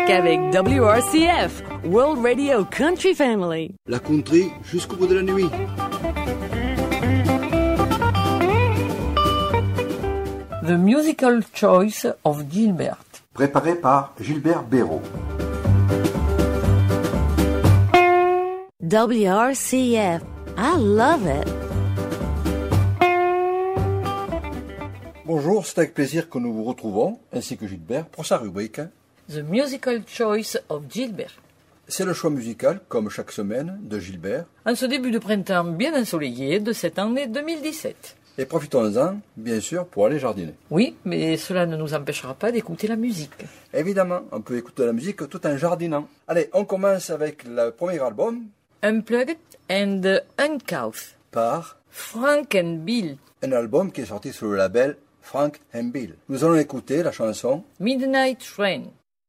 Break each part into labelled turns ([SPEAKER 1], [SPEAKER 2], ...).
[SPEAKER 1] musique avec WRCF, World Radio Country Family.
[SPEAKER 2] La country jusqu'au bout de la nuit.
[SPEAKER 3] The Musical Choice of Gilbert.
[SPEAKER 2] Préparé par Gilbert Béraud.
[SPEAKER 4] WRCF. I love it.
[SPEAKER 2] Bonjour, c'est avec plaisir que nous vous retrouvons, ainsi que Gilbert, pour sa rubrique.
[SPEAKER 3] The Musical Choice of Gilbert.
[SPEAKER 2] C'est le choix musical, comme chaque semaine, de Gilbert.
[SPEAKER 3] En ce début de printemps bien ensoleillé de cette année 2017.
[SPEAKER 2] Et profitons-en, bien sûr, pour aller jardiner.
[SPEAKER 3] Oui, mais cela ne nous empêchera pas d'écouter la musique.
[SPEAKER 2] Évidemment, on peut écouter la musique tout en jardinant. Allez, on commence avec le premier album.
[SPEAKER 3] Unplugged and Uncouth.
[SPEAKER 2] Par
[SPEAKER 3] Frank and Bill.
[SPEAKER 2] Un album qui est sorti sous le label Frank and Bill. Nous allons écouter la chanson
[SPEAKER 3] Midnight Train.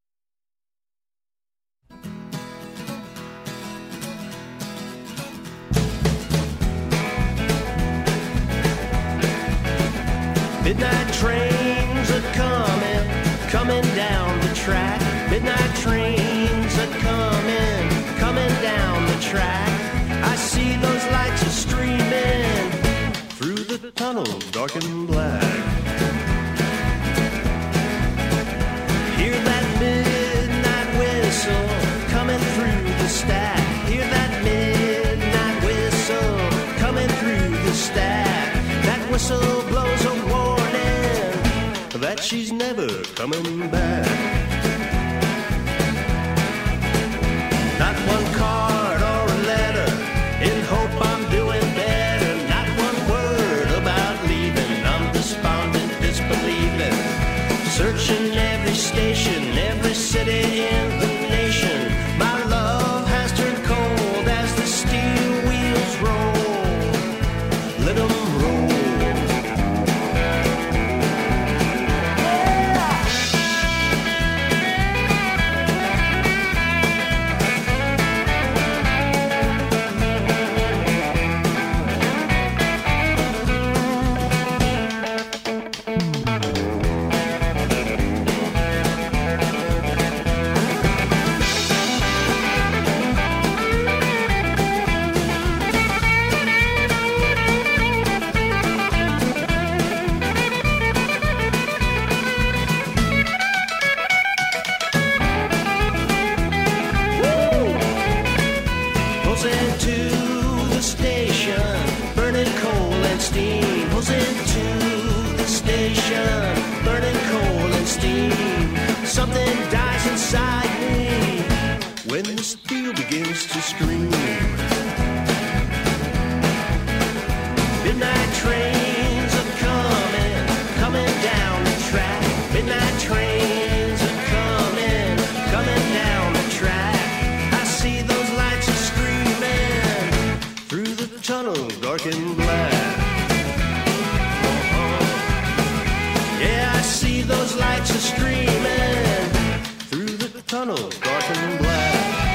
[SPEAKER 5] Midnight trains are coming down the track. Midnight trains are coming down the track. I see those lights are streaming through the tunnel, dark and black. Hear that midnight whistle coming through the stack. Hear that midnight whistle coming through the stack. That whistle blows a warning that she's never coming back. Not one card or a letter in hope I'm doing better. Not one word about leaving. I'm despondent, disbelieving. Searching every station, every city in the nation. My love has turned cold as the steel wheels roll. Let 'em roll. Something dies inside me when the steel begins to scream. Midnight trains are coming down the track. Midnight trains are coming down the track. I see those lights are streaming through the tunnel, dark and black. Yeah, I see those lights are streaming through the tunnel, dark and black.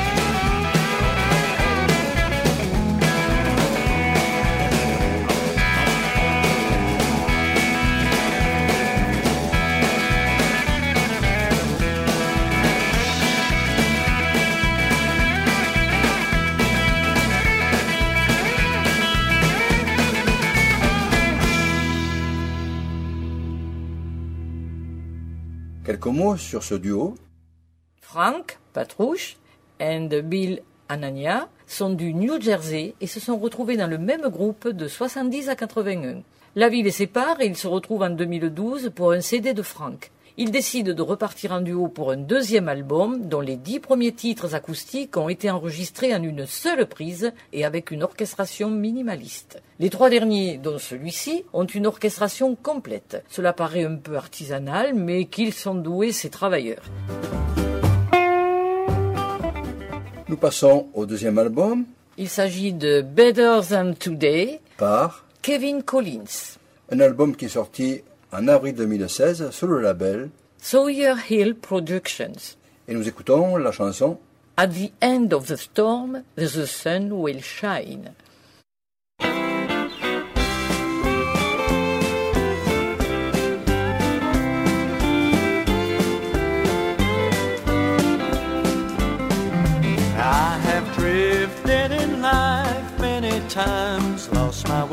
[SPEAKER 2] quelques mots sur ce duo.
[SPEAKER 3] Frank Patrouche and Bill Anania sont du New Jersey et se sont retrouvés dans le même groupe de 70 à 81. La vie les sépare et ils se retrouvent en 2012 pour un CD de Frank. Ils décident de repartir en duo pour un deuxième album dont les 10 premiers titres acoustiques ont été enregistrés en une seule prise et avec une orchestration minimaliste. Les 3 derniers, dont celui-ci, ont une orchestration complète. Cela paraît un peu artisanal, mais qu'ils sont doués, ces travailleurs.
[SPEAKER 2] Nous passons au deuxième album.
[SPEAKER 3] Il s'agit de Better Than Today
[SPEAKER 2] par
[SPEAKER 3] Kevin Collins.
[SPEAKER 2] Un album qui est sorti en avril 2016 sur le label
[SPEAKER 3] Sawyer Hill Productions.
[SPEAKER 2] Et nous écoutons la chanson
[SPEAKER 3] At the end of the storm, the sun will shine.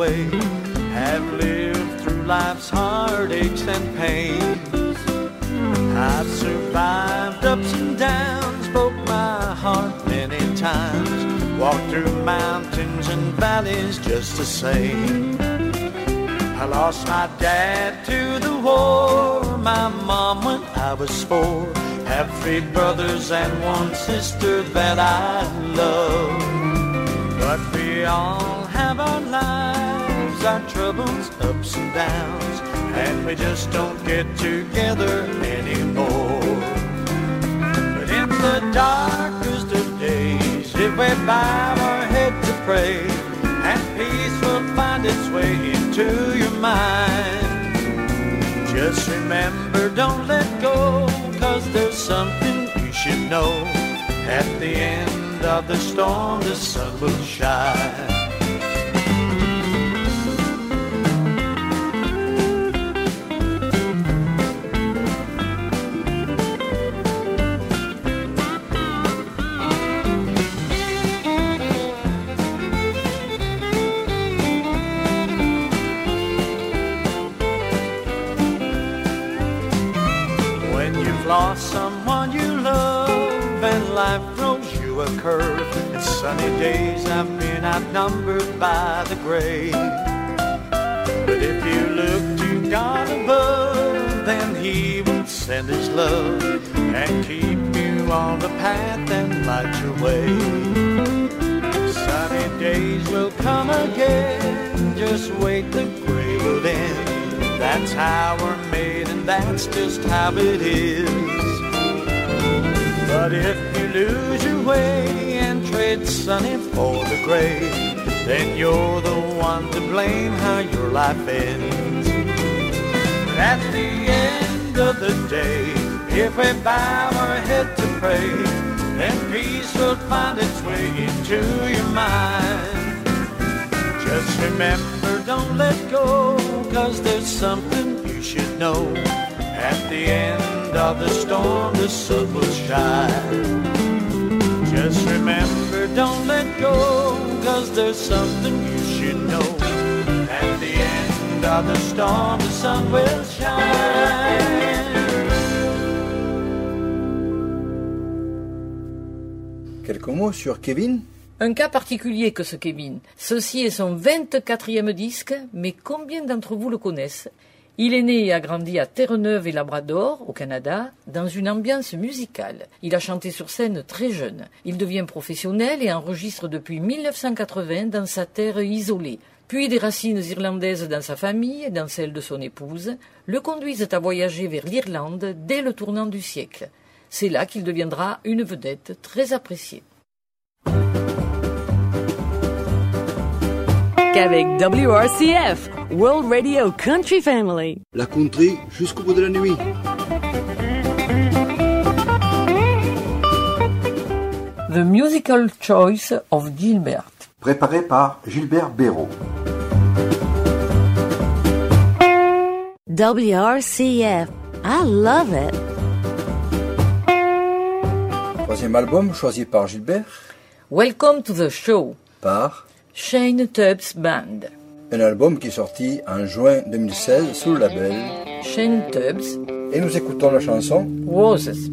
[SPEAKER 5] say, have lived through life's heartaches and pains. I've survived ups and downs, broke my heart many times, walked through mountains and valleys just the same. I lost my dad to the war, my mom when I was 4. Have 3 brothers and 1 sister that I love. But we all have our lives, our troubles, ups and downs, and we just don't get together anymore. But in the darkest of days, if we bow our head to pray, and peace will find its way into your mind. Just remember, don't let go, 'cause there's something you should know. At the end of the storm, the sun will shine. Lost someone you love and life throws you a curve. In sunny days I've been outnumbered by the grave. But if you look to God above, then He will send His love and keep you on the path and light your way. Sunny days will come again, just wait, the gray will end. That's how we're made and that's just how it is. But if you lose your way and trade sunny for the gray, then you're the one to blame how your life ends. But at the end of the day, if we bow our head to pray, then peace will find its way into your mind. Just remember, don't let go, 'cause there's something you should know. At the end of the storm, the sun will shine. Just remember, don't let go, 'cause there's something you should know. At the end of the storm, the sun will shine.
[SPEAKER 2] Quelques mots sur Kevin.
[SPEAKER 3] Un cas particulier que ce Kevin. Ceci est son 24e disque, mais combien d'entre vous le connaissent? Il est né et a grandi à Terre-Neuve et Labrador, au Canada, dans une ambiance musicale. Il a chanté sur scène très jeune. Il devient professionnel et enregistre depuis 1980 dans sa terre isolée. Puis des racines irlandaises dans sa famille et dans celle de son épouse le conduisent à voyager vers l'Irlande dès le tournant du siècle. C'est là qu'il deviendra une vedette très appréciée.
[SPEAKER 1] Avec WRCF, World Radio Country Family.
[SPEAKER 6] La country jusqu'au bout de la nuit.
[SPEAKER 3] The Musical Choice of Gilbert.
[SPEAKER 6] Préparé par Gilbert Béraud.
[SPEAKER 4] WRCF, I love it.
[SPEAKER 2] Troisième album choisi par Gilbert.
[SPEAKER 3] Welcome to the show.
[SPEAKER 2] Par
[SPEAKER 3] Shane Tubbs Band.
[SPEAKER 2] un album qui est sorti en juin 2016 sous le label
[SPEAKER 3] Shane Tubbs.
[SPEAKER 2] Et nous écoutons la chanson
[SPEAKER 3] Roses.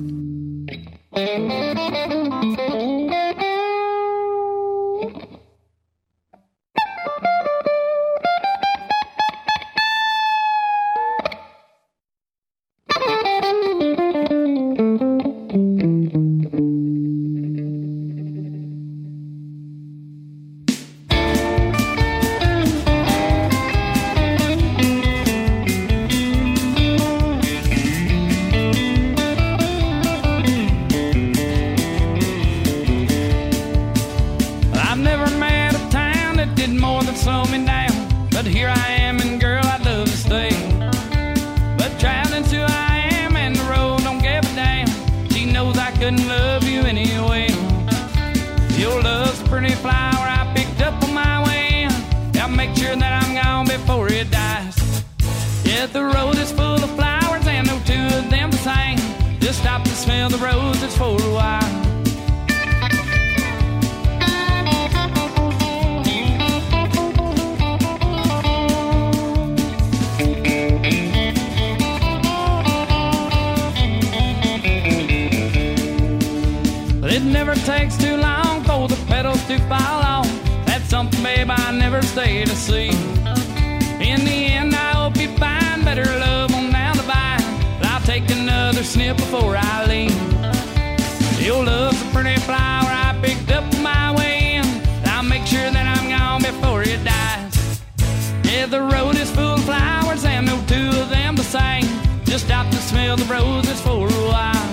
[SPEAKER 7] never takes too long for the pedals to fall off. That's something, babe, I never stay to see. In the end, I hope you find better love on down the vine. But I'll take another sniff before I leave. Your love's a pretty flower I picked up on my way in. I'll make sure that I'm gone before it dies. Yeah, the road is full of flowers and no two of them the same. Just stop to smell the roses for a while.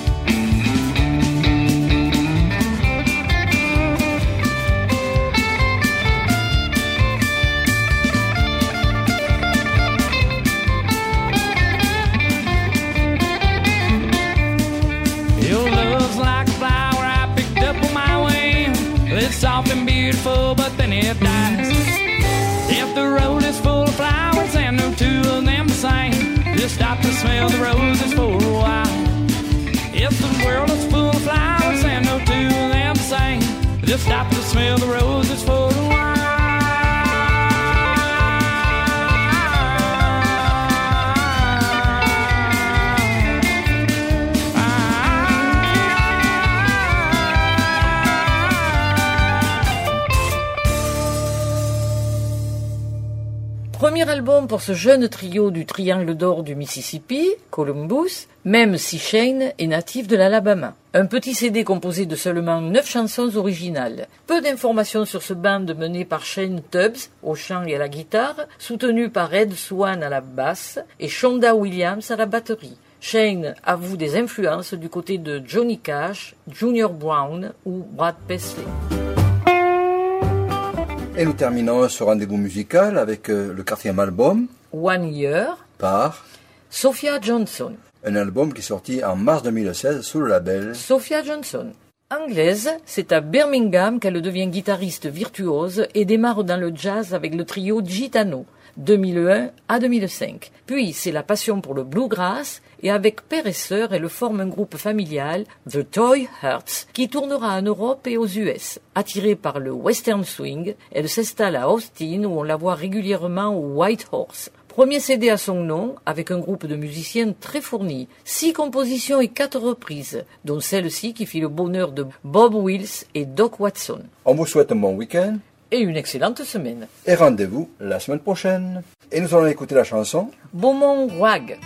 [SPEAKER 7] Your love's like a flower I picked up on my way. It's soft and beautiful, but then it dies. If the road is full of flowers and no two of them the same, just stop to smell the roses for a while. If the world is full of flowers and no two of them the same, just stop to smell the roses for a while.
[SPEAKER 3] Premier album pour ce jeune trio du Triangle d'Or du Mississippi, Columbus, même si Shane est natif de l'Alabama. Un petit CD composé de seulement 9 chansons originales. Peu d'informations sur ce band mené par Shane Tubbs au chant et à la guitare, soutenu par Ed Swan à la basse et Shonda Williams à la batterie. Shane avoue des influences du côté de Johnny Cash, Junior Brown ou Brad Paisley.
[SPEAKER 2] Et nous terminons ce rendez-vous musical avec le 4e album,
[SPEAKER 3] One Year,
[SPEAKER 2] par
[SPEAKER 3] Sophia Johnson.
[SPEAKER 2] un album qui est sorti en mars 2016 sous le label
[SPEAKER 3] Sophia Johnson. Anglaise, c'est à Birmingham qu'elle devient guitariste virtuose et démarre dans le jazz avec le trio Gitano, 2001 à 2005. Puis c'est la passion pour le bluegrass et avec père et sœur, elle forme un groupe familial, The Toy Hearts, qui tournera en Europe et aux US. Attirée par le western swing, elle s'installe à Austin où on la voit régulièrement au White Horse. Premier CD à son nom, avec un groupe de musiciens très fournis. 6 compositions et 4 reprises, dont celle-ci qui fit le bonheur de Bob Wills et Doc Watson.
[SPEAKER 2] On vous souhaite un bon week-end
[SPEAKER 3] Et une excellente semaine.
[SPEAKER 2] et rendez-vous la semaine prochaine. Et nous allons écouter la chanson
[SPEAKER 3] Beaumont Wag.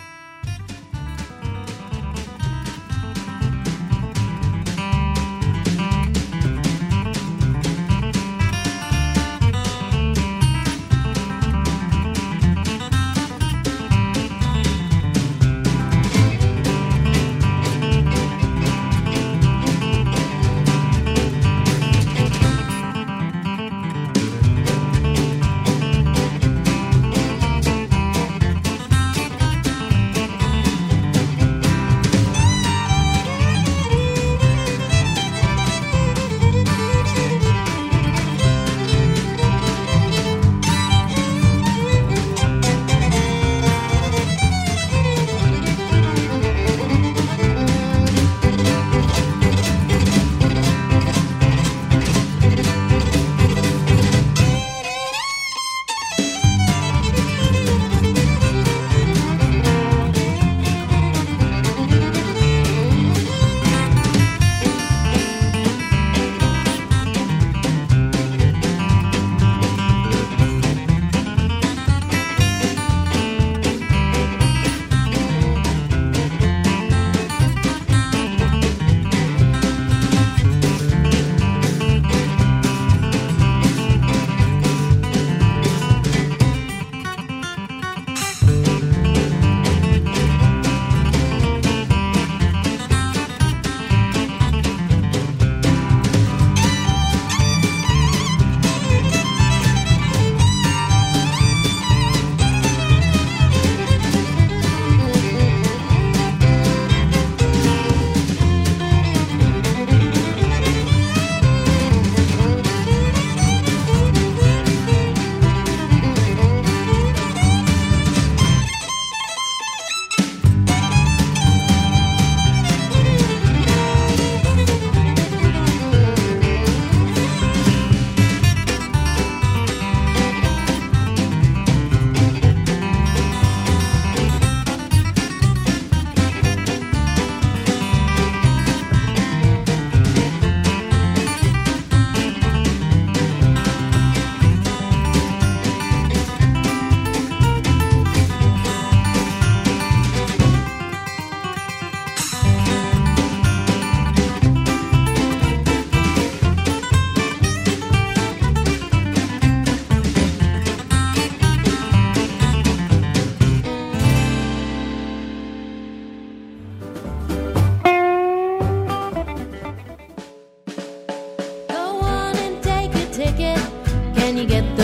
[SPEAKER 8] you get